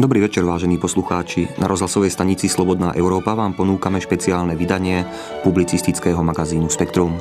Dobrý večer, vážení poslucháči. Na rozhlasovej stanici Slobodná Európa vám ponúkame špeciálne vydanie publicistického magazínu Spektrum.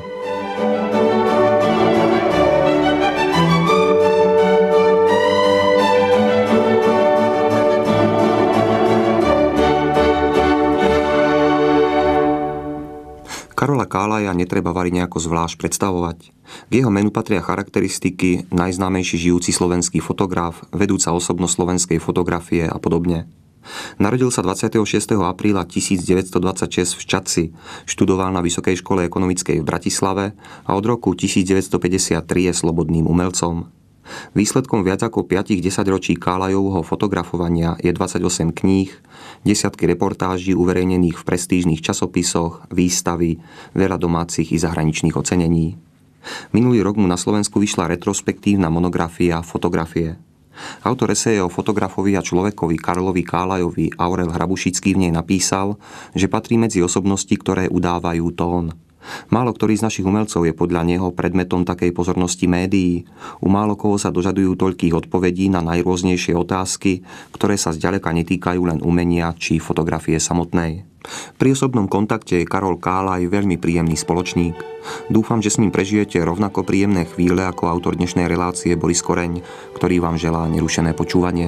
Karola Kálaja netreba vari nejako zvlášť predstavovať. K jeho menu patria charakteristiky najznámejší žijúci slovenský fotograf, vedúca osobnosť slovenskej fotografie a podobne. Narodil sa 26. apríla 1926 v Čadci, študoval na Vysokej škole ekonomickej v Bratislave a od roku 1953 je slobodným umelcom. Výsledkom viac ako 5-10 ročí Kálajovho fotografovania je 28 kníh, desiatky reportáží uverejnených v prestížnych časopisoch, výstavy, veľa domácich i zahraničných ocenení. Minulý rok mu na Slovensku vyšla retrospektívna monografia Fotografie. Autor eseje o fotografovi a človekovi Karlovi Kálajovi Aurel Hrabušický v nej napísal, že patrí medzi osobnosti, ktoré udávajú tón. Málo ktorý z našich umelcov je podľa neho predmetom takej pozornosti médií. U málo koho sa dožadujú toľkých odpovedí na najrôznejšie otázky, ktoré sa zďaleka netýkajú len umenia či fotografie samotnej. Pri osobnom kontakte je Karol Kálaj veľmi príjemný spoločník. Dúfam, že s ním prežijete rovnako príjemné chvíle ako autor dnešnej relácie Boris Koreň, ktorý vám želá nerušené počúvanie.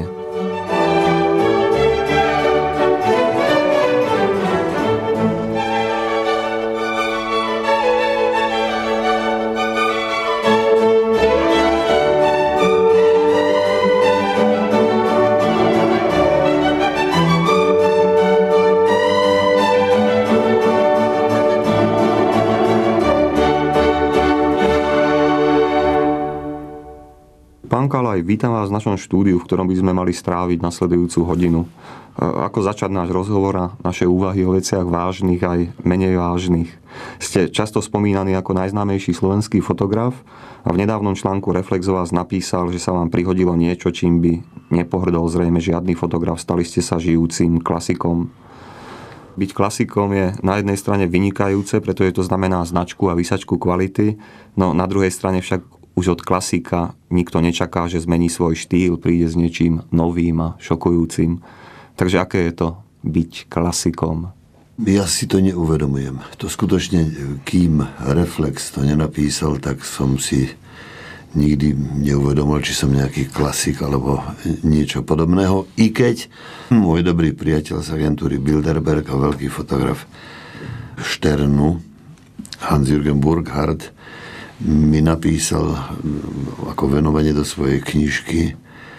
Pán Kálaj, vítam vás v našom štúdiu, v ktorom by sme mali stráviť nasledujúcu hodinu. Ako začať náš rozhovor a naše úvahy o veciach vážnych aj menej vážnych? Ste často spomínaní ako najznámejší slovenský fotograf a v nedávnom článku Reflex o vás napísal, že sa vám prihodilo niečo, čím by nepohrdol zrejme žiadny fotograf. Stali ste sa žijúcim klasikom. Byť klasikom je na jednej strane vynikajúce, pretože to znamená značku a výsačku kvality, no na druhej strane však už od klasika nikto nečaká, že zmení svoj štýl, príde s niečím novým a šokujúcim. Takže aké je to byť klasikom? Ja si to neuvedomujem. To skutočne, kým Reflex to nenapísal, tak som si nikdy neuvedomil, či som nejaký klasik alebo niečo podobného. I keď môj dobrý priateľ z agentúry Bilderberg a veľký fotograf Šternu, Hans-Jürgen Burkhardt, mi napísal ako venovanie do svojej knižky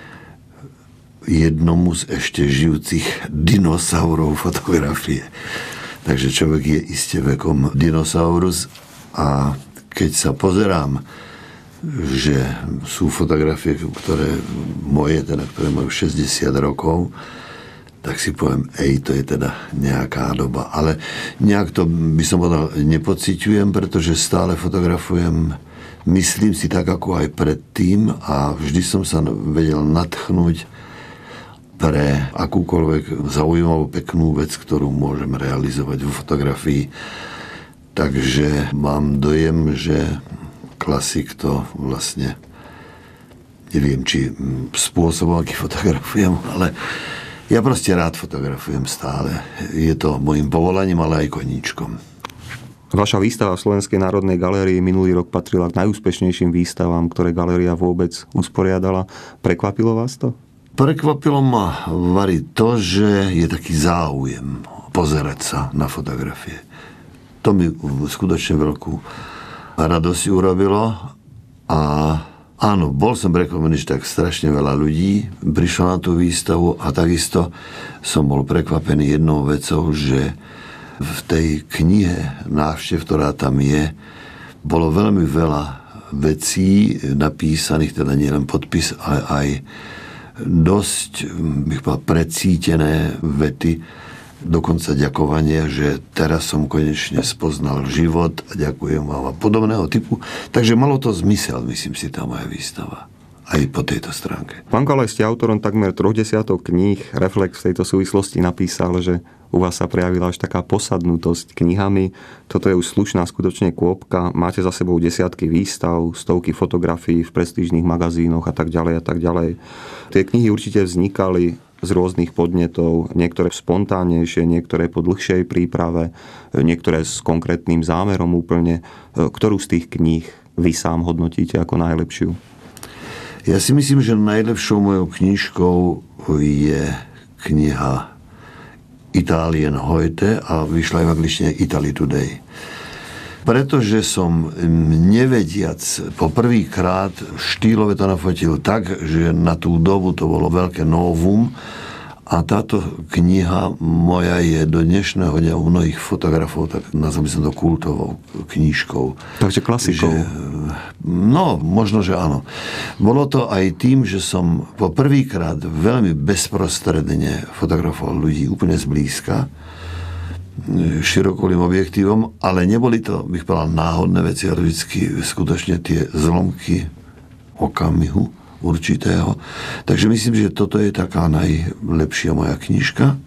jednomu z ešte žijúcich dinosaurov fotografie. Takže človek je iste vekom dinosaurus a keď sa pozerám, že sú fotografie, ktoré majú 60 rokov, tak si poviem, to je teda nejaká doba. Ale nejak to, by som povedal, nepociťujem, pretože stále fotografujem, myslím si tak, ako aj predtým a vždy som sa vedel nadchnúť pre akúkoľvek zaujímavú, peknú vec, ktorú môžem realizovať vo fotografii. Takže mám dojem, že klasik to vlastne, neviem, či spôsobom, aký fotografujem, ale ja proste rád fotografujem stále. Je to môjim povolaním, ale aj koníčkom. Vaša výstava v Slovenskej národnej galérii minulý rok patrila k najúspešnejším výstavám, ktoré galéria vôbec usporiadala. Prekvapilo vás to? Prekvapilo ma, Vary, to, že je taký záujem pozerať sa na fotografie. To mi skutočne veľkú radosť urobilo a áno, bol som prekvapený, že tak strašne veľa ľudí prišlo na tú výstavu a takisto som bol prekvapený jednou vecou, že v tej knihe návštev, ktorá tam je, bolo veľmi veľa vecí napísaných, teda nielen podpis, ale aj dosť, bych povedal, precítené vety, dokonca ďakovanie, že teraz som konečne spoznal život a ďakujem vám a podobného typu. Takže malo to zmysel, myslím si, tá moja výstava. Aj po tejto stránke. Pán Kálaj, ste autorom takmer 30 kníh. Reflex v tejto súvislosti napísal, že u vás sa prejavila až taká posadnutosť knihami. Toto je už slušná skutočne kôpka. Máte za sebou desiatky výstav, stovky fotografií v prestížnych magazínoch a tak ďalej a tak ďalej. Tie knihy určite vznikali z rôznych podnetov, niektoré spontánnejšie, niektoré po dlhšej príprave, niektoré s konkrétnym zámerom úplne. Ktorú z tých kníh vy sám hodnotíte ako najlepšiu? Ja si myslím, že najlepšou mojou knižkou je kniha Italien heute a vyšla aj v angličtine Italy Today. Pretože som nevediac poprvýkrát štýlove to nafotil tak, že na tú dobu to bolo veľké novum a táto kniha moja je do dnešného dňa u mnohých fotografov, tak nazval by som to kultovou knižkou. Takže klasikou. No, možno, že áno. Bolo to aj tým, že som poprvýkrát veľmi bezprostredne fotografoval ľudí úplne zblízka, širokolým objektívom, ale neboli to, bych povedal, náhodné veci, ale vždycky skutočne tie zlomky okamihu určitého. Takže myslím, že toto je taká najlepšia moja knižka.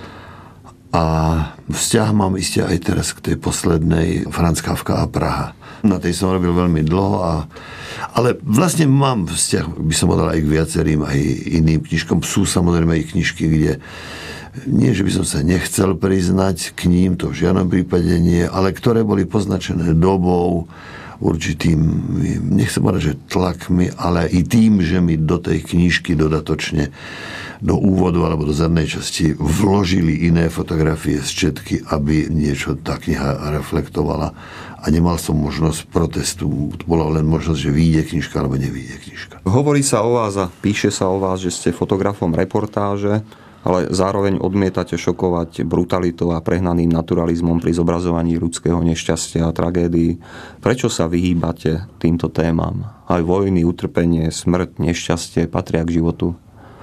A vzťah mám iste aj teraz k tej poslednej Franz Kafka a Praha. Na tej som robil veľmi dlho, ale vlastne mám vzťah, by som povedal, aj k viacerým, aj iným knižkom. Sú samozrejme aj knižky, kde nie, že by som sa nechcel priznať k ním, to v žiadnom prípade nie, ale ktoré boli poznačené dobou, určitým, nechcem povedať, že tlakmi, ale i tým, že mi do tej knižky dodatočne do úvodu alebo do zadnej časti vložili iné fotografie z četky, aby niečo tá kniha reflektovala a nemal som možnosť protestu. Bola len možnosť, že vyjde knižka alebo nevyjde knižka. Hovorí sa o vás a píše sa o vás, že ste fotografom reportáže, ale zároveň odmietate šokovať brutalitou a prehnaným naturalizmom pri zobrazovaní ľudského nešťastia a tragédií. Prečo sa vyhýbate týmto témam? Aj vojny, utrpenie, smrť, nešťastie patria k životu.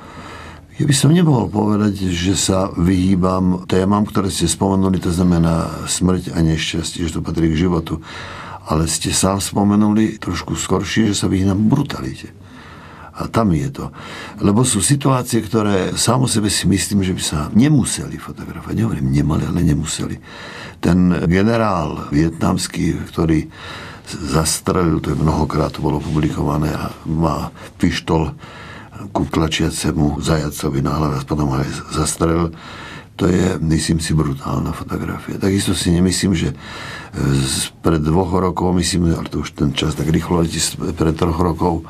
Ja by som nemohol povedať, že sa vyhýbam témam, ktoré ste spomenuli, to znamená smrť a nešťastie, že to patrí k životu. Ale ste sám spomenuli trošku skoršie, že sa vyhýbam brutalite. A tam je to. Lebo sú situácie, ktoré sám o sebe si myslím, že by sa nemuseli fotografovať. Nehovorím, nemali, ale nemuseli. Ten generál vietnamský, ktorý zastrelil, to je mnohokrát to bolo publikované, a má pištol ku tlačiacemu zajacovi na hlave a potom aj zastrelil. To je, myslím si, brutálna fotografia. Takisto si nemyslím, že pred 2 rokov, myslím, ale to už ten čas tak rýchlo letí, pred 3 rokov,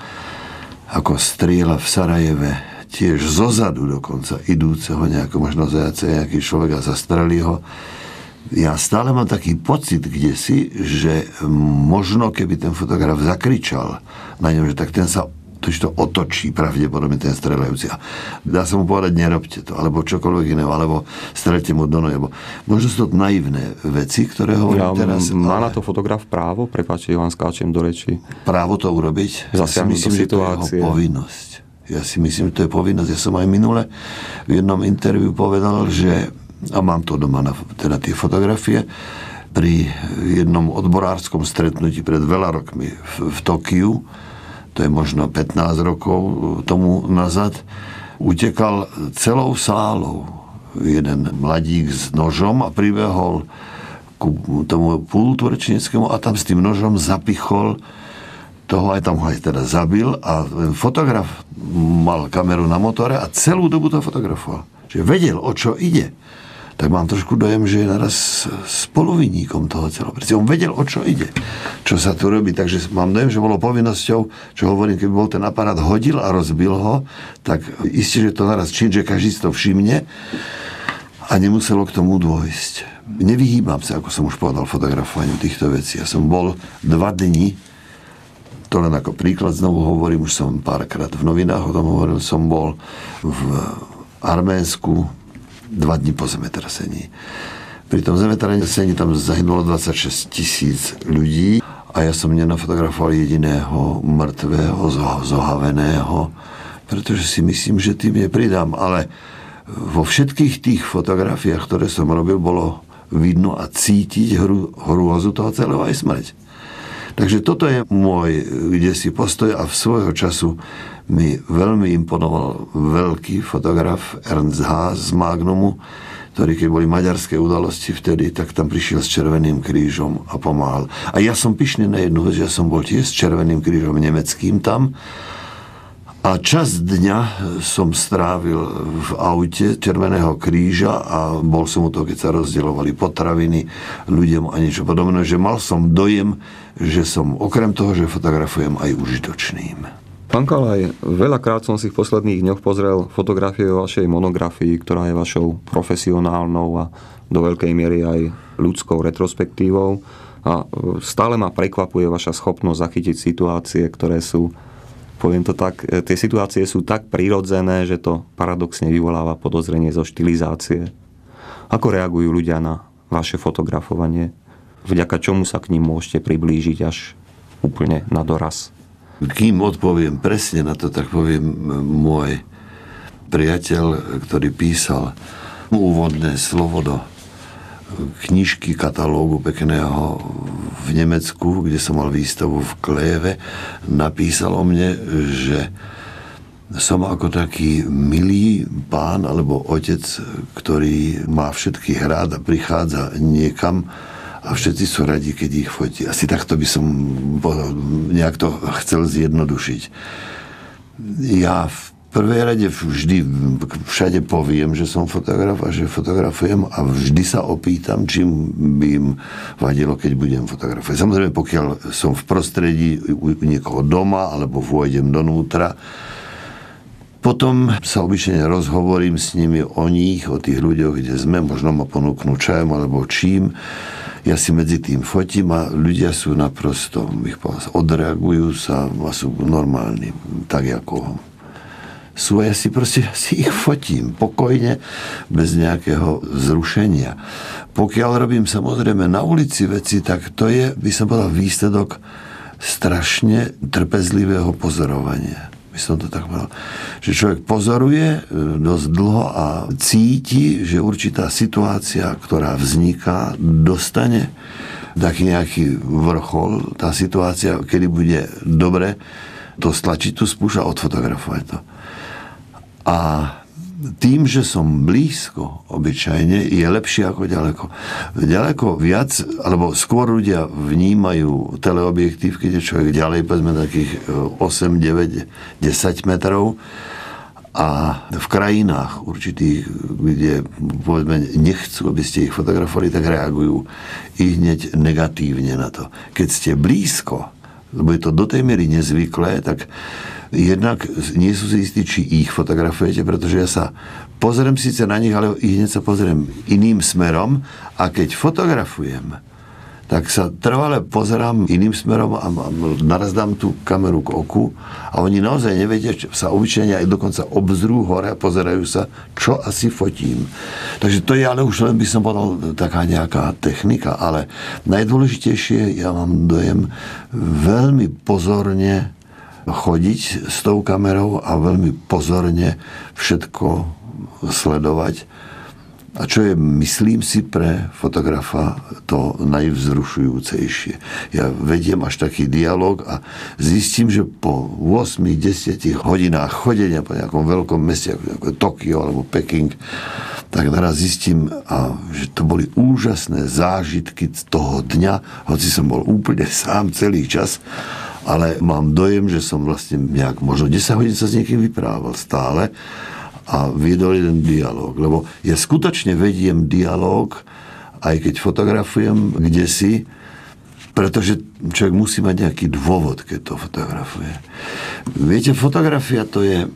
ako strieľa v Sarajeve, tiež zozadu dokonca idúceho nejakého možno zajaca, nejaký človek a zastrelí ho. Ja stále mám taký pocit kdesi, že možno keby ten fotograf zakričal na ňom, že tak ten sa to otočí pravdepodobne ten streľajúci. A dá sa mu povedať, nerobte to, alebo čokoľvek iného, alebo streľte mu do nohy. Možno sú to naivné veci, ktoré hovorím teraz. Má na to fotograf právo? Prepáčte, Ivan, skáčem do reči. Právo to urobiť? Zasiahnuť do situácie. Že to je jeho povinnosť. Ja si myslím, že to je povinnosť. Ja som aj minule v jednom interviu povedal, že, a mám to doma teda tie fotografie, pri jednom odborárskom stretnutí pred veľa rokmi v Tokiu, to je možno 15 rokov tomu nazad, utekal celou sálou jeden mladík s nožom a pribehol ku tomu pultu rečníckému a tam s tým nožom zapichol toho, aj tam ho aj teda zabil a fotograf mal kameru na motore a celú dobu to fotografoval. Čiže vedel, o čo ide. Tak mám trošku dojem, že je naraz spoluvinníkom toho celého. Pretože on vedel, o čo ide, čo sa tu robí. Takže mám dojem, že bolo povinnosťou, čo hovorím, keby bol ten aparát hodil a rozbil ho, tak isté, že to naraz čin, že každý si to všimne a nemuselo k tomu dôjsť. Nevyhýbam sa, ako som už povedal, fotografovaniu týchto vecí. Ja som bol 2 dni, to len ako príklad znovu hovorím, už som párkrát v novinách o tom hovoril, som bol v Arménsku 2 dni po zemetrasení. Pri tom zemetrasení tam zahynulo 26 000 ľudí a ja som nenafotografoval jediného mŕtvého, zohaveného, pretože si myslím, že tým nepridám. Ale vo všetkých tých fotografiách, ktoré som robil, bolo vidno a cítiť hrôzu toho celého aj smrť. Takže toto je môj kdesi postoj a v svojho času mi veľmi imponoval veľký fotograf Ernst Haas z Magnumu, ktorý, keď boli maďarské udalosti vtedy, tak tam prišiel s Červeným krížom a pomáhal. A ja som pyšný na jednu vec, že ja som bol tiež s Červeným krížom nemeckým tam A časť dňa som strávil v aute Červeného kríža a bol som u toho, keď sa rozdielovali potraviny ľuďom a niečo podobné, že mal som dojem, že som okrem toho, že fotografujem, aj užitočným. Pán Kalaj, veľakrát som si v posledných dňoch pozrel fotografie o vašej monografii, ktorá je vašou profesionálnou a do veľkej miery aj ľudskou retrospektívou. A stále ma prekvapuje vaša schopnosť zachytiť situácie, ktoré sú, poviem to tak, tie situácie sú tak prirodzené, že to paradoxne vyvoláva podozrenie zo štilizácie. Ako reagujú ľudia na vaše fotografovanie? Vďaka čomu sa k ním môžete priblížiť až úplne na doraz? Kým odpoviem presne na to, tak poviem môj priateľ, ktorý písal úvodné slovo do knižky, katalógu pekného v Nemecku, kde som mal výstavu v Kleve, napísal o mne, že som ako taký milý pán alebo otec, ktorý má všetkých rád a prichádza niekam a všetci sú radi, keď ich fotí. Asi takto by som nejak to chcel zjednodušiť. Ja v prvej rade vždy všade poviem, že som fotograf a že fotografujem a vždy sa opýtam, čím by im vadilo, keď budem fotografovať. Samozrejme, pokiaľ som v prostredí u niekoho doma alebo vôjdem donútra, potom sa obyčajne rozhovorím s nimi o nich, o tých ľuďoch, kde sme, možno ma ponúknú čajom alebo čím. Ja si medzi tým fotím a ľudia sú naprosto, odreagujú sa a sú normálni, tak ako sú. Ja si ich fotím pokojne, bez nejakého zrušenia. Pokiaľ robím samozrejme na ulici veci, tak to je, by som povedal, výsledok strašne trpezlivého pozorovania. By som to tak povedal. Že človek pozoruje dosť dlho a cíti, že určitá situácia, ktorá vzniká, dostane taký nejaký vrchol. Tá situácia, kedy bude dobre to stlačiť tú spúšť a odfotografovať to. A tým, že som blízko obyčajne, je lepšie ako ďaleko. Ďaleko viac, alebo skôr ľudia vnímajú teleobjektív, keď je človek ďalej, povedzme takých 8, 9, 10 metrov. A v krajinách určitých, kde povedzme nechcú, aby ste ich fotografovali, tak reagujú i hneď negatívne na to. Keď ste blízko, lebo je to do tej miery nezvyklé, tak jednak nie sú si istí, či ich fotografujete, pretože ja sa pozriem síce na nich, ale i hneď sa pozriem iným smerom a keď fotografujem, tak sa trvale pozerám iným smerom a naraz dám tú kameru k oku a oni naozaj nevedia, sa obyčajne aj dokonca obzrú hore a pozerajú sa, čo asi fotím. Takže to je ale už len, by som povedal, taká nejaká technika, ale najdôležitejšie, ja mám dojem, veľmi pozorne chodiť s tou kamerou a veľmi pozorne všetko sledovať. A čo je, myslím si, pre fotografa to najvzrušujúcejšie. Ja vediem až taký dialog a zistím, že po 8-10 hodinách chodenia po nejakom veľkom meste, ako Tokio alebo Peking, tak naraz zistím, že to boli úžasné zážitky toho dňa, hoci som bol úplne sám celý čas, ale mám dojem, že som vlastne nejak, možno 10 hodín sa s niekým vyprával stále a viedol jeden dialog. Lebo ja skutočne vediem dialog, aj keď fotografujem kdesi, pretože človek musí mať nejaký dôvod, keď to fotografuje. Viete, fotografia to je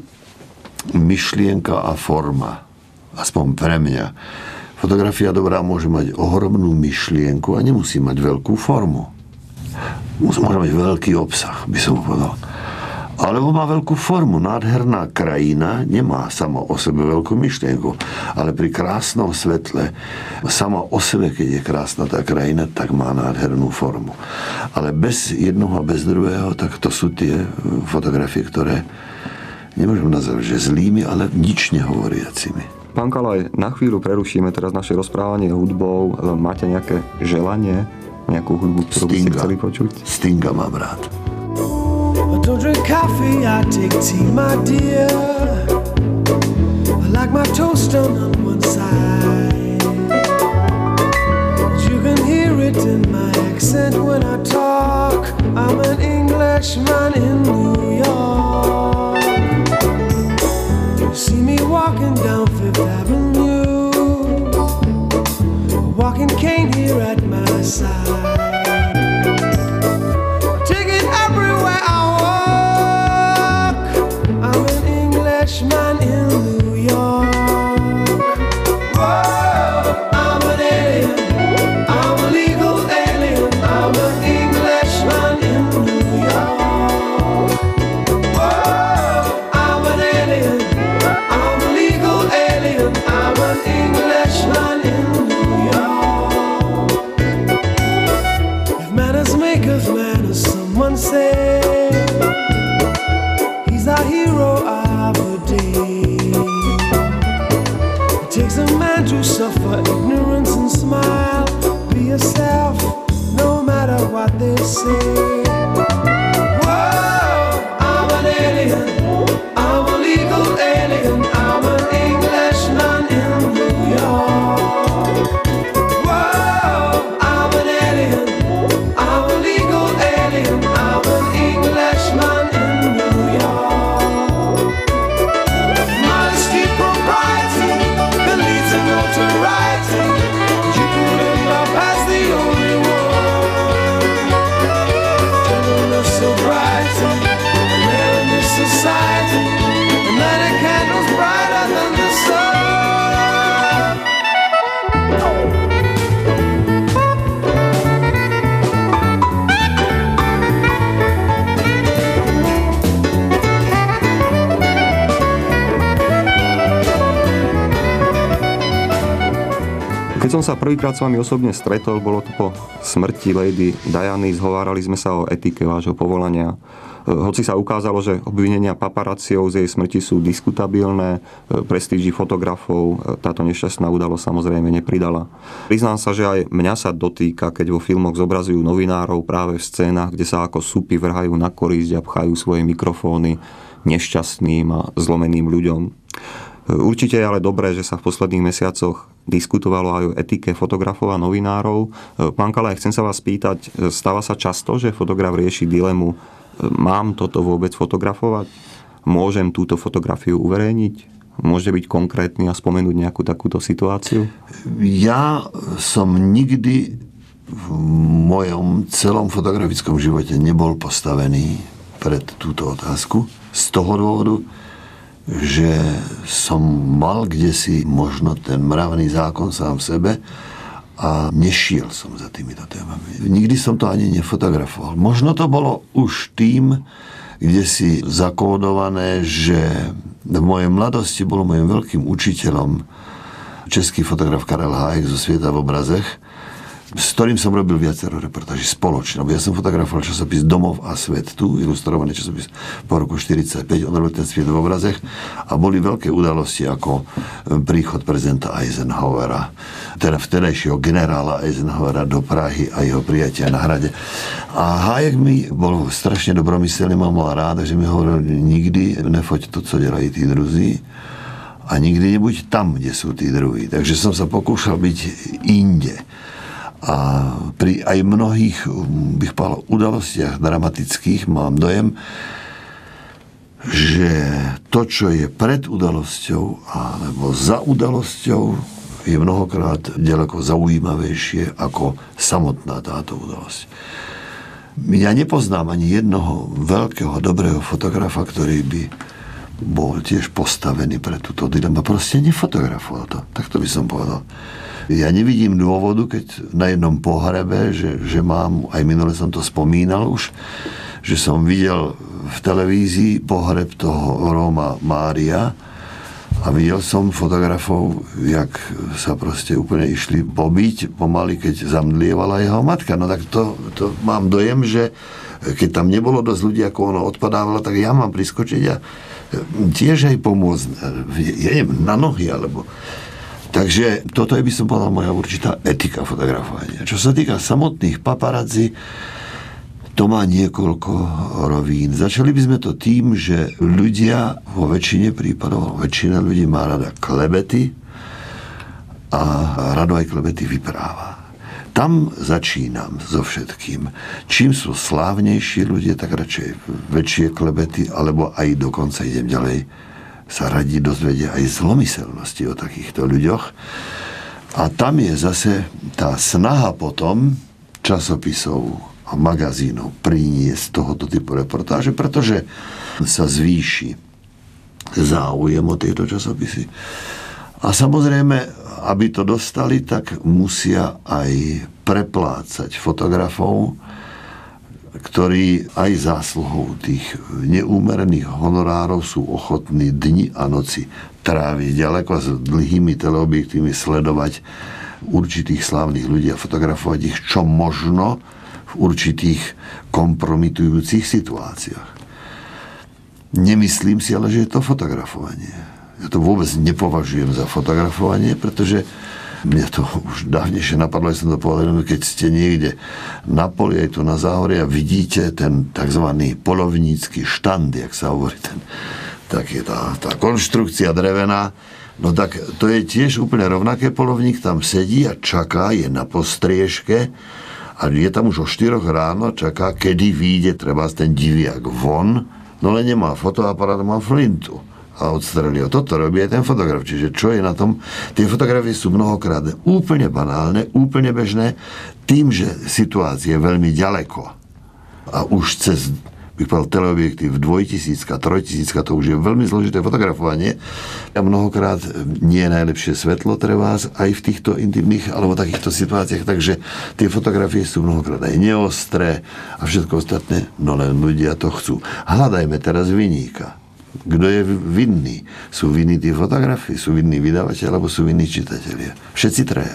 myšlienka a forma. Aspoň pre mňa. Fotografia dobrá môže mať ohromnú myšlienku a nemusí mať veľkú formu. Môže mať veľký obsah, by som povedal. Alebo má veľkú formu. Nádherná krajina nemá sama o sebe veľkú myšlienku, ale pri krásnom svetle, sama o sebe, keď je krásna tá krajina, tak má nádhernú formu. Ale bez jednoho a bez druhého, tak to sú tie fotografie, ktoré nemôžem nazvať, že zlými, ale nič nehovoriacimi. Pán Kalaj, na chvíľu prerušíme teraz naše rozprávanie hudbou. Máte nejaké želanie? Nejakú hudbu, ktorú by ste chceli počuť? Stinga mám rád. I don't drink coffee, I take tea, my dear. I like my toast on one side. You can hear it in my accent when I talk. I'm an Englishman in New York. Keď som sa prvýkrát s vami osobne stretol, bolo to po smrti Lady Diany, zhovárali sme sa o etike vášho povolania. Hoci sa ukázalo, že obvinenia paparáciov z jej smrti sú diskutabilné, prestíži fotografov táto nešťastná udalosť samozrejme nepridala. Priznám sa, že aj mňa sa dotýka, keď vo filmoch zobrazujú novinárov práve v scénach, kde sa ako supy vrhajú na korisť a pchajú svoje mikrofóny nešťastným a zlomeným ľuďom. Určite je ale dobré, že sa v posledných mesiacoch diskutovalo aj o etike fotografov a novinárov. Pán Kalaj, chcem sa vás spýtať, stáva sa často, že fotograf rieši dilemu: mám toto vôbec fotografovať? Môžem túto fotografiu uverejniť? Môže byť konkrétny a spomenúť nejakú takúto situáciu? Ja som nikdy v mojom celom fotografickom živote nebol postavený pred túto otázku. Z toho dôvodu, že som mal kdesi možno ten mravný zákon sám v sebe a nešiel som za týmito témami. Nikdy som to ani nefotografoval. Možno to bolo už tým, kde si zakódované, že v mojej mladosti bol mojim veľkým učiteľom český fotograf Karel Hájek zo Svieta v obrazech, s ktorým som robil viacero reportáží spoločne. Ja som fotografoval časopis Domov a svet, tu ilustrovaný časopis po roku 1945, on robil ten Sviet v obrazech a boli veľké udalosti ako príchod prezidenta Eisenhowera, teda vtedajšieho generála Eisenhowera do Prahy a jeho prijatia na hrade. A Hájek mi bol strašne dobromyselný, mám mal rád, že mi hovoril: nikdy nefoť to, co dělají tí druzí, a nikdy nebuď tam, kde sú tí druhí. Takže som sa pokúšal byť inde. A pri aj mnohých, bych povedal, udalostiach dramatických mám dojem, že to, čo je pred udalosťou alebo za udalosťou, je mnohokrát ďaleko zaujímavejšie ako samotná táto udalosť. Ja nepoznám ani jednoho veľkého, dobrého fotografa, ktorý by bol tiež postavený pre túto dilemu. Proste nefotografoval to. Tak to by som povedal. Ja nevidím dôvodu, keď na jednom pohrebe, že mám, aj minule som to spomínal už, že som videl v televízii pohreb toho Róma Mária a videl som fotografov, jak sa proste úplne išli pobiť pomaly, keď zamdlievala jeho matka. No tak to mám dojem, že keď tam nebolo dosť ľudí, ako ono odpadávalo, tak ja mám priskočiť a tiež aj pomôcť, ja neviem, na nohy, alebo... Takže toto je, by som povedal, moja určitá etika fotografovania. Čo sa týka samotných paparazzi, to má niekoľko rovín. Začali by sme to tým, že ľudia vo väčšine prípadov, väčšina ľudí má rada klebety a rado aj klebety vypráva. Tam začínam so všetkým. Čím sú slávnejší ľudia, tak radšej väčšie klebety, alebo aj dokonca idem ďalej, sa radí dozvedia aj zlomyselnosti o takýchto ľuďoch. A tam je zase tá snaha potom časopisov a magazínov priniesť tohoto typu reportáže, pretože sa zvýši záujem o tieto časopisy. A samozrejme, aby to dostali, tak musia aj preplácať fotografov, ktorí aj zásluhou tých neúmerných honorárov sú ochotní dni a noci tráviť ďaleko s dlhými teleobjektívmi, sledovať určitých slávnych ľudí a fotografovať ich čo možno v určitých kompromitujúcich situáciách. Nemyslím si ale, že je to fotografovanie. Ja to vôbec nepovažujem za fotografovanie, pretože mňa to už dávnejšie napadlo, že som to povedal, keď ste niekde na poli, aj tu na záhore a vidíte ten takzvaný polovnícky štand, jak sa hovorí, tak je tá konštrukcia drevená, no tak to je tiež úplne rovnaké. Polovník tam sedí a čaká, je na postriežke a je tam už o 4 ráno, čaká, kedy vyjde treba ten diviak von, no len nemá fotoaparát, má flintu a odstrelil. Toto robí aj ten fotograf. Čiže čo je na tom? Tie fotografie sú mnohokrát úplne banálne, úplne bežné, tým, že situácia je veľmi ďaleko. A už cez, bych povedal, teleobjektív 2000, 3000, to už je veľmi zložité fotografovanie. A mnohokrát nie je najlepšie svetlo treba aj v týchto intimných alebo takýchto situáciách, takže tie fotografie sú mnohokrát aj neostré a všetko ostatné, no len ľudia to chcú. Hľadajme teraz viníka. Kto je vinný? Sú vinní tí fotografii, sú vinní vydavateľi, alebo sú vinní čitatelia? Všetci traja.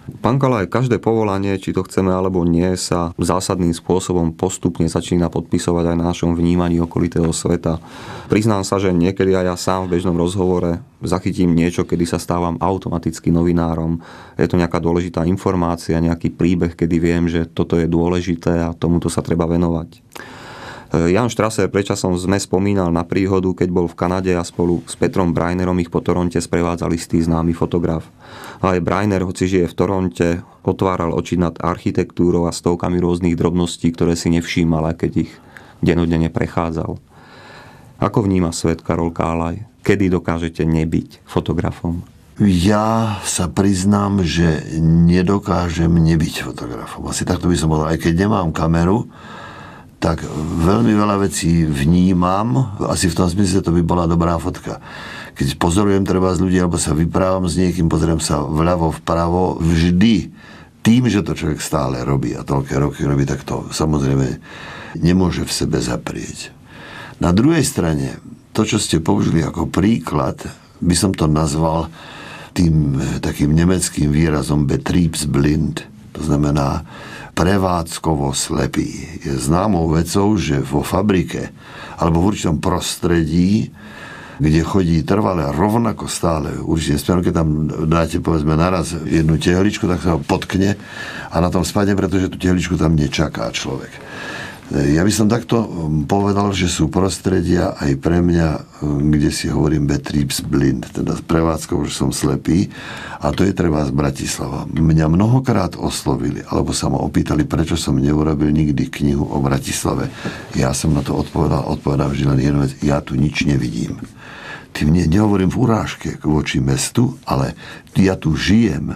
Pán Kalaj, každé povolanie, či to chceme alebo nie, sa zásadným spôsobom postupne začína podpisovať aj na našom vnímaní okolitého sveta. Priznám sa, že niekedy aj ja sám v bežnom rozhovore zachytím niečo, kedy sa stávam automaticky novinárom. Je to nejaká dôležitá informácia, nejaký príbeh, kedy viem, že toto je dôležité a tomuto sa treba venovať. Jan Strasser predčasom sme spomínal na príhodu, keď bol v Kanade a spolu s Petrom Brainerom ich po Toronte sprevádzal istý známy fotograf. A aj Brainer, hoci žije v Toronte, otváral oči nad architektúrou a stovkami rôznych drobností, ktoré si nevšímal, keď ich denodenne prechádzal. Ako vníma svet Karol Kálaj? Kedy dokážete nebyť fotografom? Ja sa priznám, že nedokážem nebyť fotografom. Asi takto by som povedal. Aj keď nemám kameru, tak veľmi veľa vecí vnímam. Asi v tom zmysle to by bola dobrá fotka. Keď pozorujem treba z ľudí, alebo sa vyprávam s niekým, pozriem sa vľavo, vpravo, vždy tým, že to človek stále robí a toľké roky robí, tak to samozrejme nemôže v sebe zaprieť. Na druhej strane, to, čo ste použili ako príklad, by som to nazval tým takým nemeckým výrazom betriebsblind. To znamená prevádzkovo slepý. Je známou vecou, že vo fabrike alebo v určitom prostredí, kde chodí trvale rovnako stále určite smerom, keď tam dáte povedzme naraz jednu tehličku, tak sa ho potkne a na tom spadne, pretože tú tehličku tam nečaká človek. Ja by som takto povedal, že sú prostredia aj pre mňa, kde si hovorím betriebsblind, teda prevádzkou, že som slepý, a to je treba z Bratislava. Mňa mnohokrát oslovili, alebo sa ma opýtali, prečo som neurobil nikdy knihu o Bratislave. Ja som na to odpovedal vždy len jednu vec, ja tu nič nevidím. Tým nehovorím v urážke voči mestu, ale ja tu žijem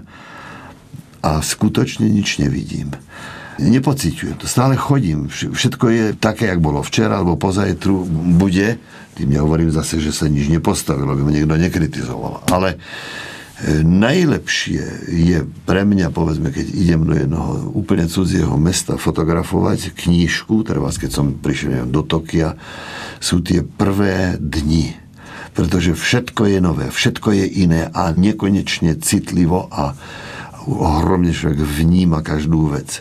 a skutočne nič nevidím. Nepociťujem to, stále chodím, všetko je také, jak bolo včera alebo pozajtru bude, tým nehovorím zase, že sa nič nepostavilo, aby ma niekto nekritizoval, ale najlepšie je pre mňa, povedzme, keď idem do jednoho úplne cudzieho mesta fotografovať knížku, treba keď som prišiel do Tokia, sú tie prvé dni, pretože všetko je nové, všetko je iné a nekonečne citlivo a ohromne človek vníma každú vec.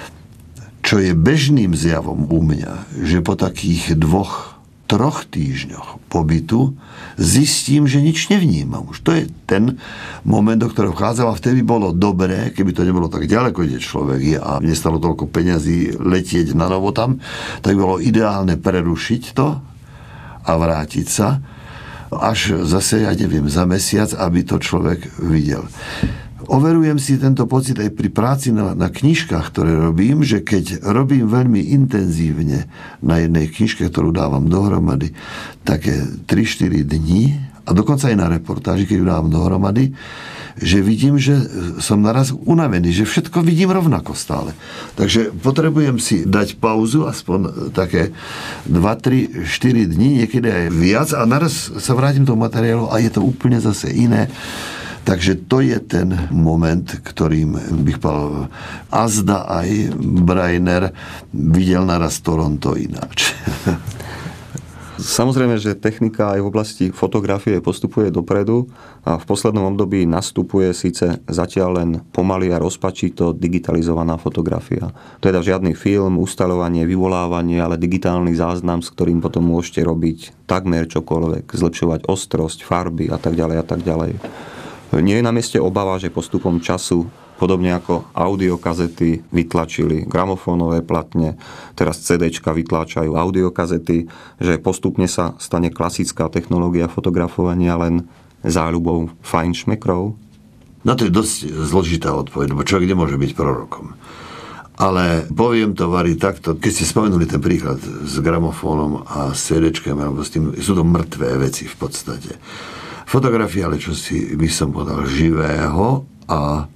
Čo je bežným zjavom u mňa, že po takých 2-3 týždňoch pobytu zistím, že nič nevnímam. Už to je ten moment, do ktorého vchádzam a vtedy bolo dobré, keby to nebolo tak ďaleko, kde človek je a nestalo toľko peňazí letieť na novo tam, tak bolo ideálne prerušiť to a vrátiť sa až zase, ja neviem, za mesiac, aby to človek videl. Overujem si tento pocit aj pri práci na knižkách, ktoré robím, že keď robím veľmi intenzívne na jednej knižke, ktorú dávam dohromady, také 3-4 dní, a dokonca aj na reportáži, keď ju dávam dohromady, že vidím, že som naraz unavený, že všetko vidím rovnako stále. Takže potrebujem si dať pauzu, aspoň také 2-3-4 dní, niekedy aj viac, a naraz sa vrátim do materiálu a je to úplne zase iné. Takže to je ten moment, ktorým bych povedal, azda aj Brainer videl naraz Toronto ináč. Samozrejme, že technika aj v oblasti fotografie postupuje dopredu a v poslednom období nastupuje síce zatiaľ len pomaly a rozpačito digitalizovaná fotografia. Teda žiadny film, ustaľovanie, vyvolávanie, ale digitálny záznam, s ktorým potom môžete robiť takmer čokoľvek, zlepšovať ostrosť, farby a tak ďalej a tak ďalej. Nie je na mieste obava, že postupom času, podobne ako audiokazety vytlačili gramofónové platne, teraz CDčka vytláčajú audiokazety, že postupne sa stane klasická technológia fotografovania len záľubou fajnšmekrov? Na to je dosť zložitá odpoveď, lebo človek nemôže byť prorokom. Ale poviem to, Vary, takto, keď ste spomenuli ten príklad s gramofónom a s CDčkami, alebo s tým, sú to mŕtvé veci v podstate. Fotografia, ale čo si by som povedal, živého, a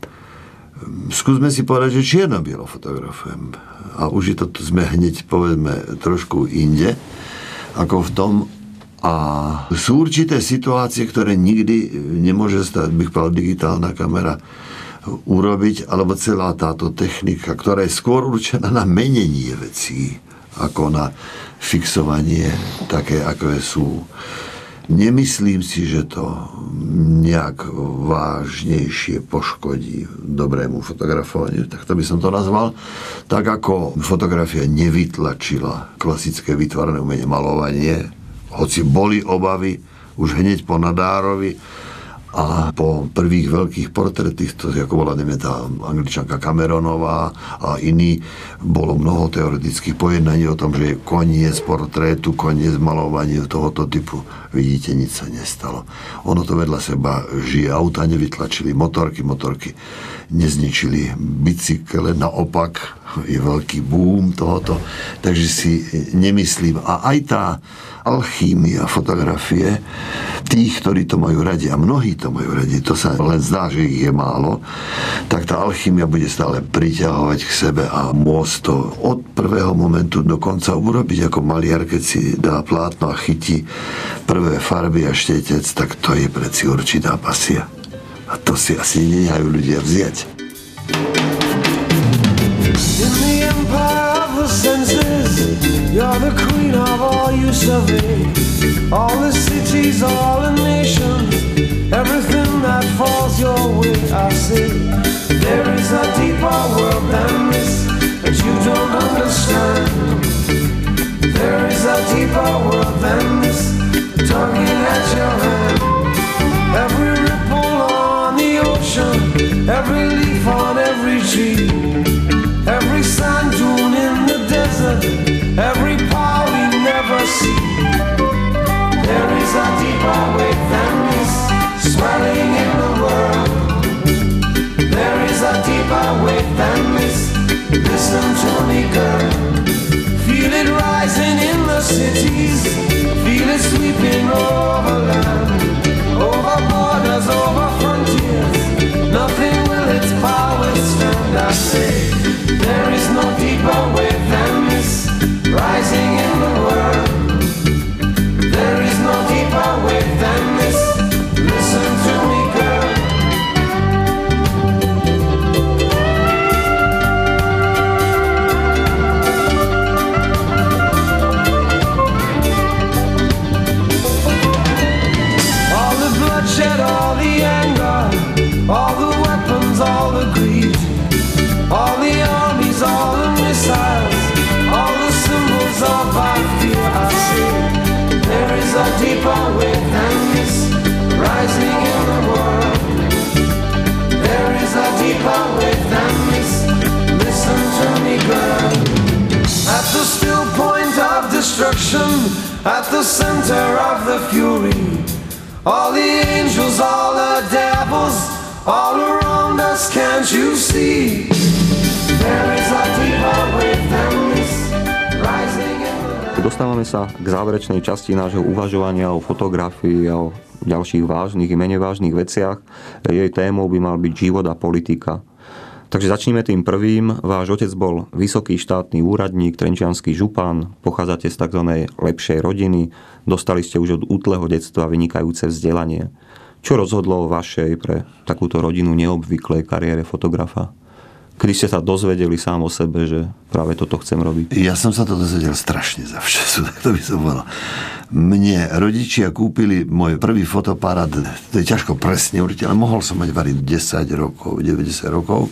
skúsme si povedať, že čierno-bielo fotografujem. A už je to, sme hneď, povedzme, trošku inde, ako v tom. A sú určité situácie, ktoré nikdy nemôže stať, bych povedal, digitálna kamera urobiť, alebo celá táto technika, ktorá je skôr určená na menenie vecí, ako na fixovanie také, ako sú. Nemyslím si, že to nejak vážnejšie poškodí dobrému fotografovaniu, tak to by som to nazval. Tak ako fotografia nevytlačila klasické výtvarné umenie, malovanie, hoci boli obavy už hneď po Nadárovi a po prvých veľkých portretých, to ako bola tá Angličanka Cameronová a iní, bolo mnoho teoretických pojednaní o tom, že je koniec portrétu, koniec malovania tohoto typu. Vidíte, nič sa nestalo. Ono to vedľa seba žije. Auta nevytlačili, motorky nezničili, bicykle, naopak je veľký boom tohoto. Takže si nemyslím. A aj tá alchýmia fotografie tých, ktorí to majú radi, a mnohí to majú radi, to sa len zdá, že ich je málo, tak tá alchýmia bude stále priťahovať k sebe a môcť to od prvého momentu do konca urobiť ako maliar, keď si dá plátno a chytí prvé farby a štetec, tak to je preci určitá pasia. A to si asi nenehajú ľudia vziať. In the empire of the senses, you're the queen of all you survey. All the cities, all the nations, everything that falls your way, I say. There is a deeper world than this that you don't understand. There is a deeper world than this, tugging at your hand. Every ripple on the ocean, every leaf on every tree, every sand dune in the desert, every power we never see. There is a deeper wave than this, swelling in the world. There is a deeper wave than this, listen to me, girl. Feel it rising in the cities, feel it sweeping over land, over borders, over frontiers. Nothing will its power stand, I say. There is no deeper wave than this, rising in the world. There is no deeper wave than this, listen to me, girl. All the bloodshed, all the anger, all the weapons, all the greed, all the armies, all the missiles, all the symbols of our fear, I say. There is a deeper wave than this, rising in the world. There is a deeper wave than this, listen to me, girl. At the still point of destruction, at the center of the fury, all the angels, all the devils, all around us, can't you see? There is a deeper wave than this, rising in the world. Dostávame sa k záverečnej časti nášho uvažovania o fotografii a o ďalších vážnych i menej vážnych veciach. Jej témou by mal byť život a politika. Takže začneme tým prvým. Váš otec bol vysoký štátny úradník, trenčiansky župan, pochádzate z tzv. Lepšej rodiny, dostali ste už od útleho detstva vynikajúce vzdelanie. Čo rozhodlo o vašej pre takúto rodinu neobvyklej kariére fotografa? Kedy ste sa dozvedeli sám o sebe, že práve toto chcem robiť? Ja som sa to dozvedel strašne za včasu, tak to by som povedal. Mne rodičia kúpili môj prvý fotoparát, to je ťažko presne určiť, ale mohol som mať variť 10 rokov, 90 rokov.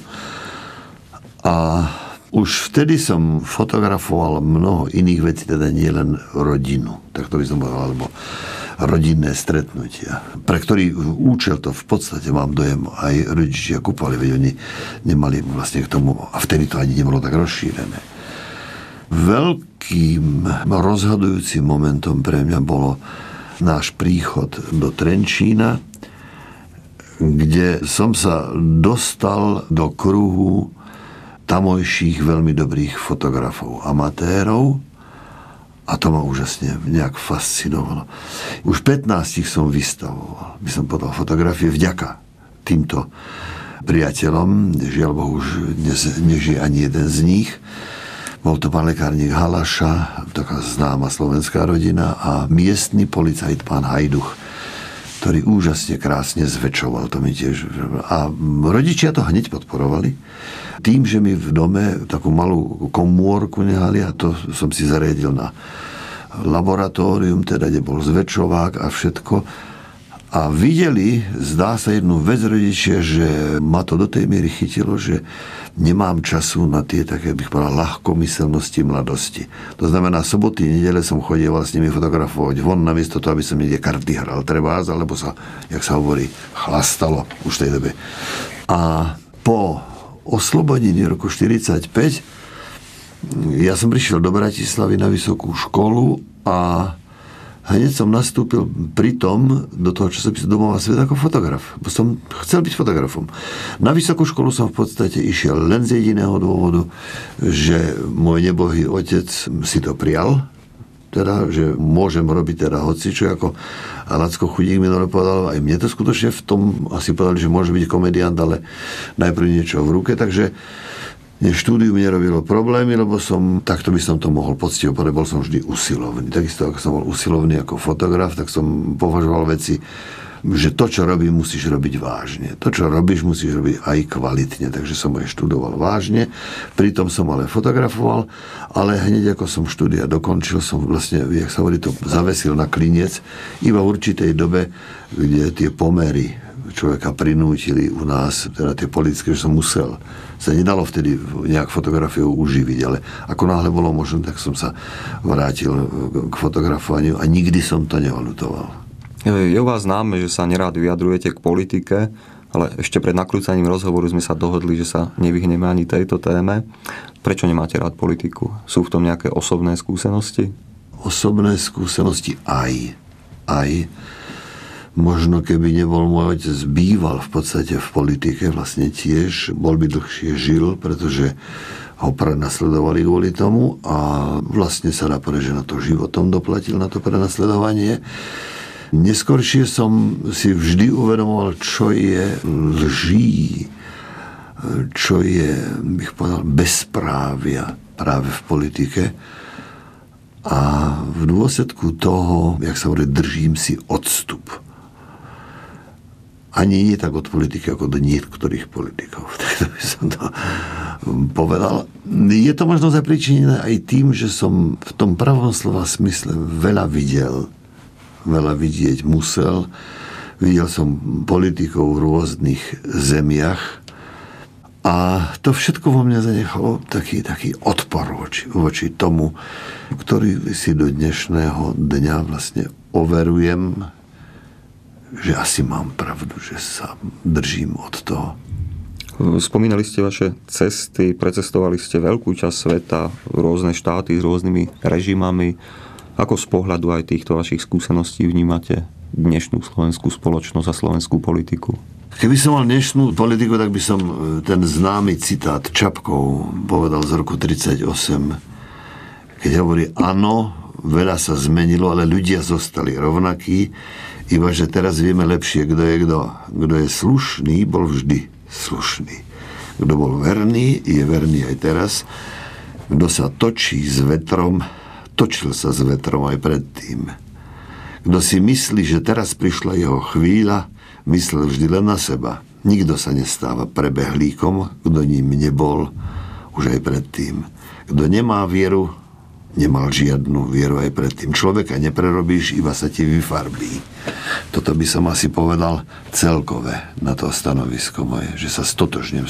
A už vtedy som fotografoval mnoho iných vecí, teda nie len rodinu, tak to by som povedal, alebo rodinné stretnutia, pre ktorý účel to v podstate mám dojem aj rodičia kúpali, veď oni nemali vlastne k tomu, a vtedy to ani nebolo tak rozšírené. Veľkým rozhodujúcim momentom pre mňa bolo náš príchod do Trenčína, kde som sa dostal do kruhu tamojších veľmi dobrých fotografov, amatérov, a to ma úžasne nejak fascinovalo. Už 15 som vystavoval, by som podal fotografie vďaka týmto priateľom. Žiaľ Bohu, už dnes nežije ani jeden z nich. Bol to pán lekárnik Halaša, taká známa slovenská rodina, a miestny policajt pán Hajduch, ktorý úžasne krásne zväčšoval. To mi tiež... A rodičia to hneď podporovali. Tým, že mi v dome takú malú komórku nehali, a to som si zariadil na laboratórium, teda kde bol zväčšovák a všetko. A videli, zdá sa, jednu vec rodičia, že ma to do tej miery chytilo, že nemám času na tie také, bych povedal, ľahkomyselnosti mladosti. To znamená, soboty, nedele som chodieval s nimi fotografovať von, namiesto toho, aby som niekde karty hral trebárs, alebo sa, jak sa hovorí, chlastalo už v tej dobe. A po oslobodení roku 1945 ja som prišiel do Bratislavy na vysokú školu a hneď som nastúpil pritom do toho časopisu Domová svet ako fotograf. Bo som chcel byť fotografom. Na vysokú školu som v podstate išiel len z jediného dôvodu, že môj nebohý otec si to prijal, teda, že môžem robiť teda hocičo, ako Lacko Chudík minule povedal, aj mne to skutočne v tom asi povedali, že môže byť komediant, ale najprv niečo v ruke, takže štúdium nerobilo problémy, lebo takto by som to mohol poctivo povedať, bol som vždy usilovný. Takisto ako som bol usilovný ako fotograf, tak som považoval veci, že to, čo robím, musíš robiť vážne. To, čo robíš, musíš robiť aj kvalitne. Takže som aj študoval vážne, pritom som ale fotografoval, ale hneď ako som štúdia dokončil, som vlastne, jak sa hovorí, to zavesil na kliniec, iba v určitej dobe, kde tie pomery človeka prinútili u nás, teda tie politické, že som musel. Sa nedalo vtedy nejak fotografiou uživiť, ale ako náhle bolo možné, tak som sa vrátil k fotografovaniu a nikdy som to neoľutoval. Je u vás známe, že sa nerád vyjadrujete k politike, ale ešte pred nakrúcaním rozhovoru sme sa dohodli, že sa nevyhneme ani tejto téme. Prečo nemáte rád politiku? Sú v tom nejaké osobné skúsenosti? Osobné skúsenosti aj. Možno keby nebol môj otec, býval v podstate v politike, vlastne tiež, bol by dlhšie žil, pretože ho prenasledovali kvôli tomu a vlastne sa dá povedať, že na to životom doplatil, na to prenasledovanie. Neskoršie som si vždy uvedomoval, čo je lží, čo je, bych povedal, bezprávia práve v politike. A v dôsledku toho, jak sa hovorí, držím si odstup. Ani nie tak od politiky, ako do niektorých politikov. Tak by som to povedal. Je to možno zapričinené aj tým, že som v tom pravom slova smysle veľa videl, veľa vidieť musel. Videl som politikov v rôznych zemiach a to všetko vo mne zanechalo taký odpor voči tomu, ktorý si do dnešného dňa vlastne overujem, že asi mám pravdu, že sa držím od toho. Spomínali ste vaše cesty, precestovali ste veľkú časť sveta, rôzne štáty s rôznymi režimami. Ako z pohľadu aj týchto vašich skúseností vnímate dnešnú slovenskú spoločnosť a slovenskú politiku? Keby som mal dnešnú politiku, tak by som ten známy citát Čapkov povedal z roku 1938, keď hovorí, áno, veľa sa zmenilo, ale ľudia zostali rovnakí, iba že teraz vieme lepšie, kto je kto. Kto je slušný, bol vždy slušný. Kto bol verný, je verný aj teraz. Kto sa točí s vetrom, točil sa s vetrom aj predtým. Kto si myslí, že teraz prišla jeho chvíľa, myslel vždy len na seba. Nikto sa nestáva prebehlíkom, kto ním nebol už aj predtým. Kto nemá vieru, nemal žiadnu vieru aj predtým. Človeka neprerobíš, iba sa ti vyfarbí. Toto by som asi povedal celkové na to stanovisko moje, že sa stotožňujem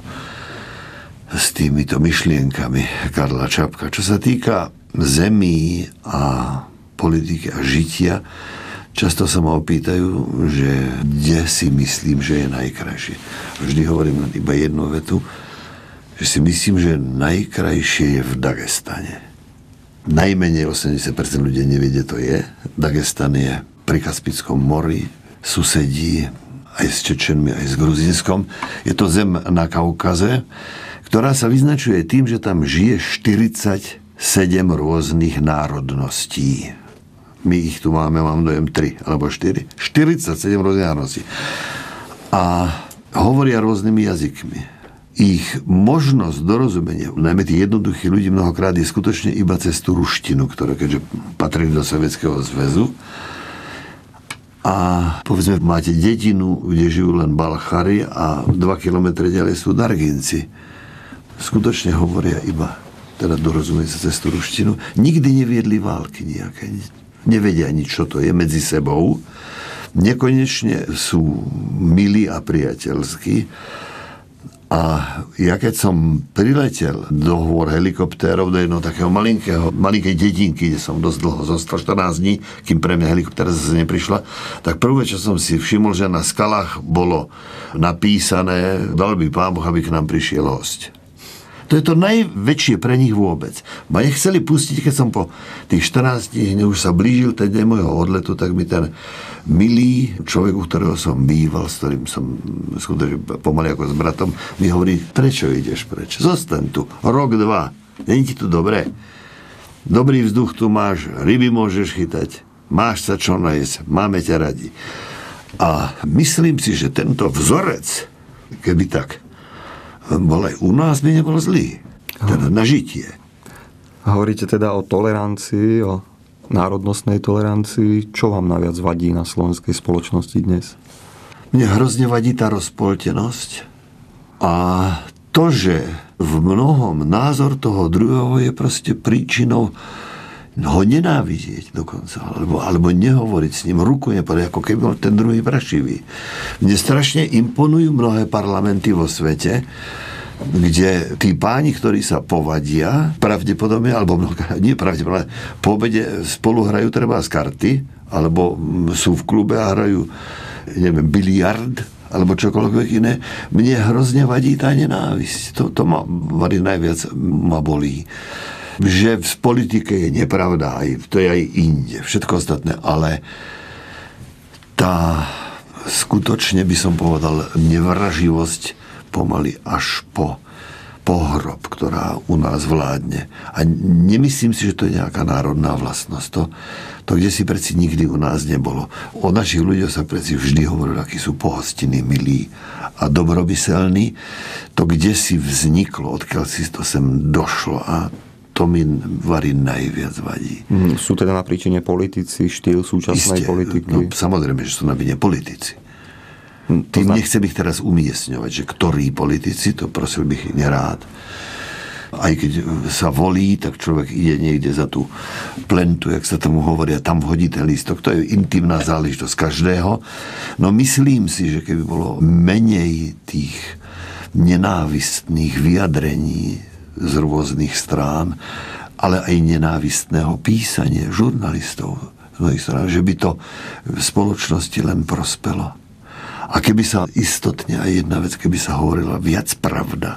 s týmito myšlienkami Karla Čapka. Čo sa týka zemí a politiky a žitia, často sa ma opýtajú, že kde si myslím, že je najkrajšie. Vždy hovorím len iba jednu vetu, že si myslím, že najkrajšie je v Dagestane. Najmenej 80% ľudí nevie, kde to je. Dagestan je pri Kaspickom mori, susedí aj s Čečenmi, aj s Gruzínskom. Je to zem na Kaukaze, ktorá sa vyznačuje tým, že tam žije 47 rôznych národností. My ich tu máme, mám dojem 3 alebo 4. 47 rôznych národností. A hovoria rôznymi jazykmi. Ich možnosť dorozumenia, najmä tých jednoduchých ľudí mnohokrát je skutočne iba cez tú ruštinu, ktorá keďže patrí do Sovietskeho zväzu. A povedzme, máte dedinu, kde žijú len Balchari a 2 kilometre ďalej sú Darginci. Skutočne hovoria iba teda dorozumie sa cez tú ruštinu, nikdy neviedli války nejaké. Nevedia nič, čo to je medzi sebou. Nekonečne sú milí a priateľskí. A ja keď som priletel do hôr helikoptérov do jedného takého malinkej dedinky, kde som dosť dlho zostal, 14 dní, kým pre mňa helikoptéra zase neprišla, tak prvé, čo som si všimol, že na skalách bolo napísané: dal by Pán Boh, aby k nám prišiel hosť. To je to najväčšie pre nich vôbec. Ma nechceli pustiť, keď som po tých 14 dní už sa blížil ten deň môjho odletu, tak mi ten milý človek, u ktorého som býval, s ktorým som skutočne pomaly ako s bratom, mi hovorí: prečo ideš preč? Zostaň tu, rok, 2. Není ti tu dobre? Dobrý vzduch tu máš, ryby môžeš chytať, máš sa čo najesť, máme ťa radi. A myslím si, že tento vzorec, keby tak bol aj u nás, by nebol zlý. Teda na žitie. Hovoríte teda o tolerancii, o národnostnej tolerancii. Čo vám najviac vadí na slovenskej spoločnosti dnes? Mne hrozne vadí tá rozpoltenosť a to, že v mnohom názor toho druhého je proste príčinou ho nenávidieť dokonca, alebo nehovoriť s ním, ruku nepodať, ako keby bol ten druhý prašivý. Mne strašne imponujú mnohé parlamenty vo svete, kde tí páni, ktorí sa povadia, pravdepodobne, alebo nie pravdepodobne, po obede spolu hrajú treba z karty, alebo sú v klube a hrajú, neviem, biliard, alebo čokoľvek iné. Mne hrozne vadí tá nenávisť. To ma vadí najviac, ma bolí. Že v politike je nepravda, to je aj inde, všetko ostatné, ale tá skutočne, by som povedal, nevraživosť pomaly až po pohrob, ktorá u nás vládne. A nemyslím si, že to je nejaká národná vlastnosť. To kde si preci nikdy u nás nebolo. O našich ľuďoch sa preci vždy hovorilo, akí sú pohostinní, milí a dobromyselní. To kde si vzniklo, odkiaľ si to sem došlo, a to mi najviac vadí. Sú teda na príčine politici, štýl súčasnej politiky? No, samozrejme, že sú na vine politici. Tým nechcem ich teraz umiestňovať, že ktorí politici, to prosil bych nerád. Aj keď sa volí, tak človek ide niekde za tú plentu, jak sa tomu hovoria, tam vhodí ten lístok. To je intimná záležitosť každého. No myslím si, že keby bolo menej tých nenávistných vyjadrení z rôznych strán, ale aj nenávistného písania žurnalistov z mnohých strán, že by to v spoločnosti len prospelo. A keby sa istotne aj jedna vec, keby sa hovorila viac pravda,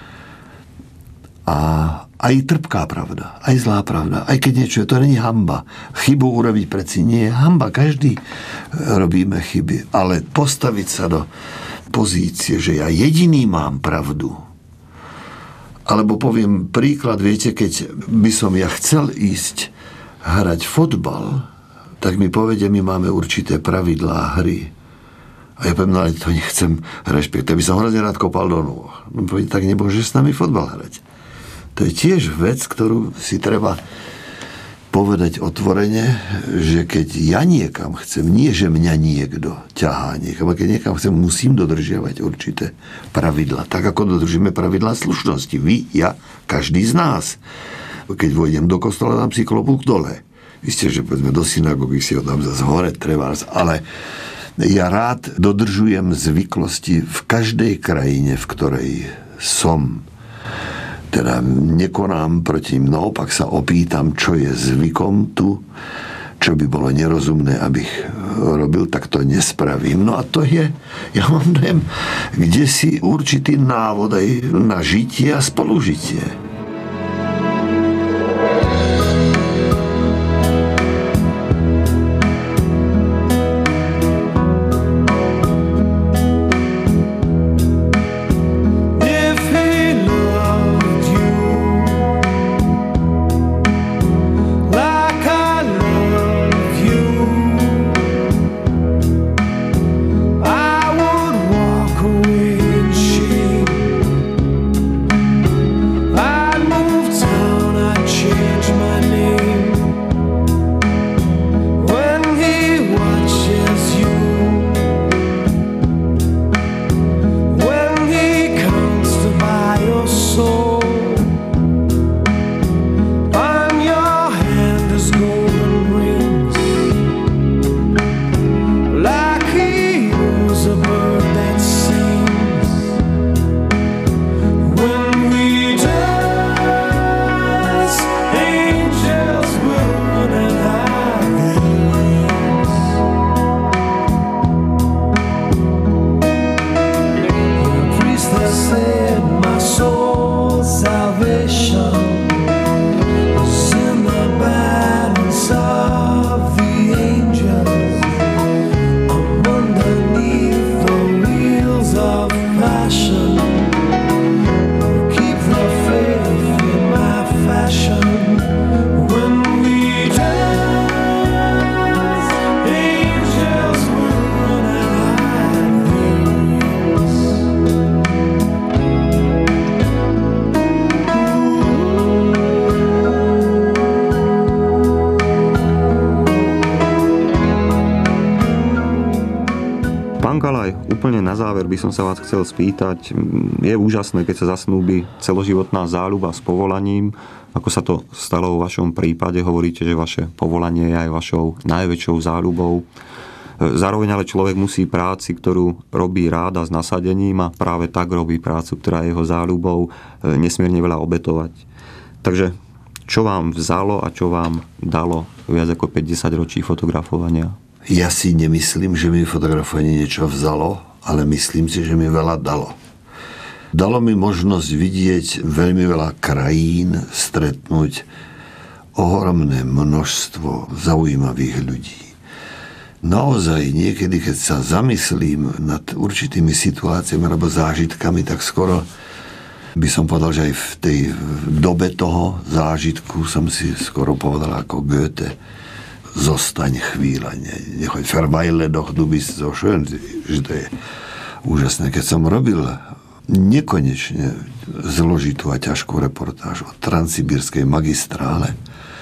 a aj trpká pravda, aj zlá pravda, aj keď niečo je, to není hanba. Chybu urobiť preci nie je hanba, každý robíme chyby, ale postaviť sa do pozície, že ja jediný mám pravdu. Alebo poviem príklad, viete, keď by som ja chcel ísť hrať fotbal, tak mi povedia, my máme určité pravidlá hry. A ja poviem, no ale to nechcem rešpektovať. By som hrozne rád kopal do nôh. No poviem, tak nemôžeš s nami fotbal hrať. To je tiež vec, ktorú si treba povedať otvorene, že keď ja niekam chcem, nie že mňa niekto ťahá niekam, a keď niekam chcem, musím dodržiavať určité pravidla. Tak ako dodržíme pravidlá slušnosti. Vy, ja, každý z nás. Keď vojdem do kostola, dám si klobúk dole. Isté, že poďme do synagógy, si ho dám zase hore, trebárs, ale ja rád dodržujem zvyklosti v každej krajine, v ktorej som. Teda nekonám proti ním, naopak sa opýtam, čo je zvykom tu, čo by bolo nerozumné, abych robil, tak to nespravím. No a to je, ja mám dojem, kde si určitý návod aj na žitie a spolužitie. I Pán Kalaj, úplne na záver by som sa vás chcel spýtať. Je úžasné, keď sa zasnúbi celoživotná záľuba s povolaním. Ako sa to stalo vo vašom prípade? Hovoríte, že vaše povolanie je aj vašou najväčšou záľubou. Zároveň ale človek musí práci, ktorú robí rád a s nasadením, a práve tak robí prácu, ktorá je jeho záľubou, nesmierne veľa obetovať. Takže čo vám vzalo a čo vám dalo viac ako 50 ročí fotografovania? Ja si nemyslím, že mi fotografovanie niečo vzalo, ale myslím si, že mi veľa dalo. Dalo mi možnosť vidieť veľmi veľa krajín, stretnúť ohromné množstvo zaujímavých ľudí. Naozaj niekedy, keď sa zamyslím nad určitými situáciami alebo zážitkami, tak skoro by som povedal, že aj v tej dobe toho zážitku som si skoro povedal ako Goethe: zostaň chvíľa, nechoď verweile doch, du bist so schön, že to je úžasné. Keď som robil nekonečne zložitú a ťažkú reportáž o transsibírskej magistrále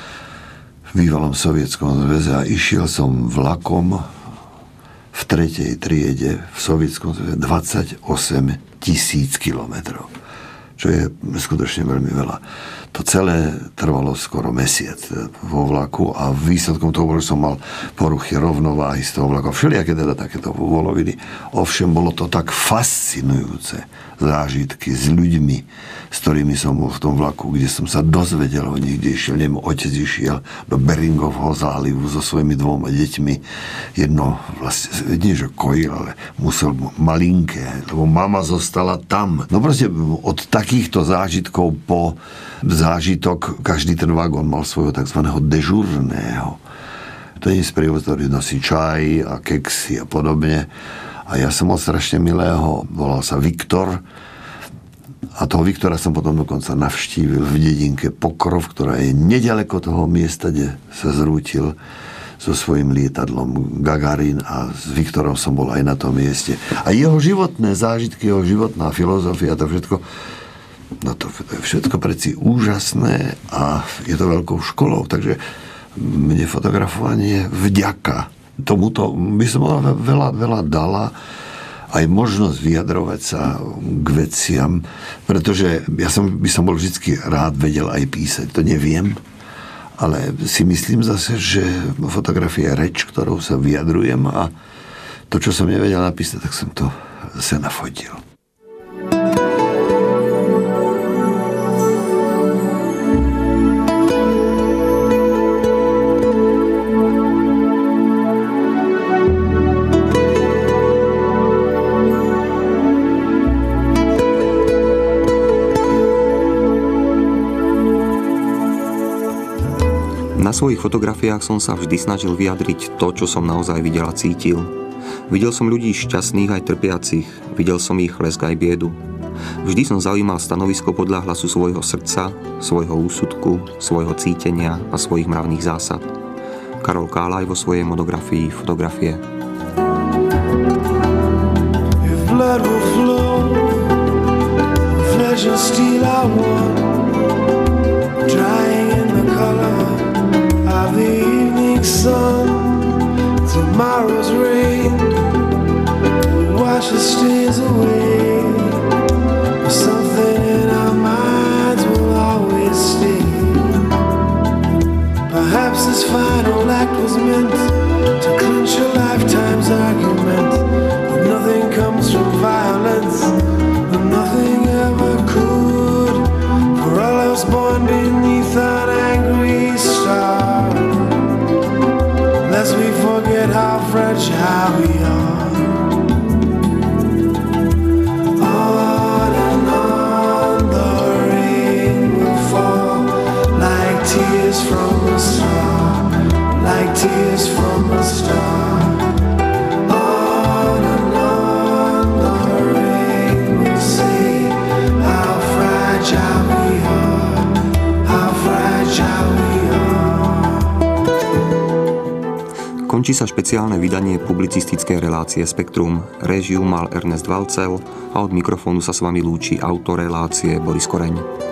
v bývalom Sovietskom zväze a išiel som vlakom v 3. triede v Sovietskom zväze 28 000 kilometrov, čo je skutočne veľmi veľa. To celé trvalo skoro mesiac vo vlaku a výsledkom toho bolo, že som mal poruchy rovnováhy z toho vlaku. Všelijaké teda takéto voloviny. Ovšem bolo to tak fascinujúce zážitky s ľuďmi, s ktorými som bol v tom vlaku, kde som sa dozvedel o nich, kde išiel, otec išiel do Beringovho zálivu so svojimi 2 deťmi. Jedno vlastne, nie že kojil, ale musel malinké, lebo mama zostala tam. No proste od takýchto zážitkov po zážitok, každý ten vagón mal svojho takzvaného dežurného. To je sprievodca, ktorý nosí čaj a keksy a podobne. A ja som mal strašne milého, volal sa Viktor. A toho Viktora som potom dokonca navštívil v dedinke Pokrov, ktorá je nedaleko toho miesta, kde sa zrútil so svojím lietadlom Gagarin, a s Viktorom som bol aj na tom mieste. A jeho životné zážitky, jeho životná filozofia, to všetko, no to je všetko preci úžasné a je to veľkou školou. Takže mne fotografovanie vďaka tomuto by som veľa dala, aj možnosť vyjadrovať sa k veciam, pretože by som bol vždy rád vedel aj písať. To neviem, ale si myslím zase, že fotografia je reč, ktorou sa vyjadrujem, a to, čo som nevedel napísať, tak som to zase nafotil. Na svojich fotografiách som sa vždy snažil vyjadriť to, čo som naozaj videl a cítil. Videl som ľudí šťastných aj trpiacich, videl som ich lesk aj biedu. Vždy som zaujímal stanovisko podľa hlasu svojho srdca, svojho úsudku, svojho cítenia a svojich mravných zásad. Karol Kálaj vo svojej monografii Fotografie. If blood will flow, flesh and steel are one, drying in the color of the evening sun. Tomorrow's rain washes stains away, but something in our minds will always stay. Perhaps this final act was meant to clinch a lifetime's argument, but nothing comes from violence, and nothing ever could, for all I was born beneath an angry star. Lest we forget how fragile we are. On and on the rain will fall, like tears from a star, like tears from a star. On and on the rain will say how fragile we are, how fragile we are. Končí sa špeciálne vydanie publicistickej relácie Spektrum. Réžiu mal Ernest Valcel a od mikrofónu sa s vami lúči autor relácie Boris Koreň.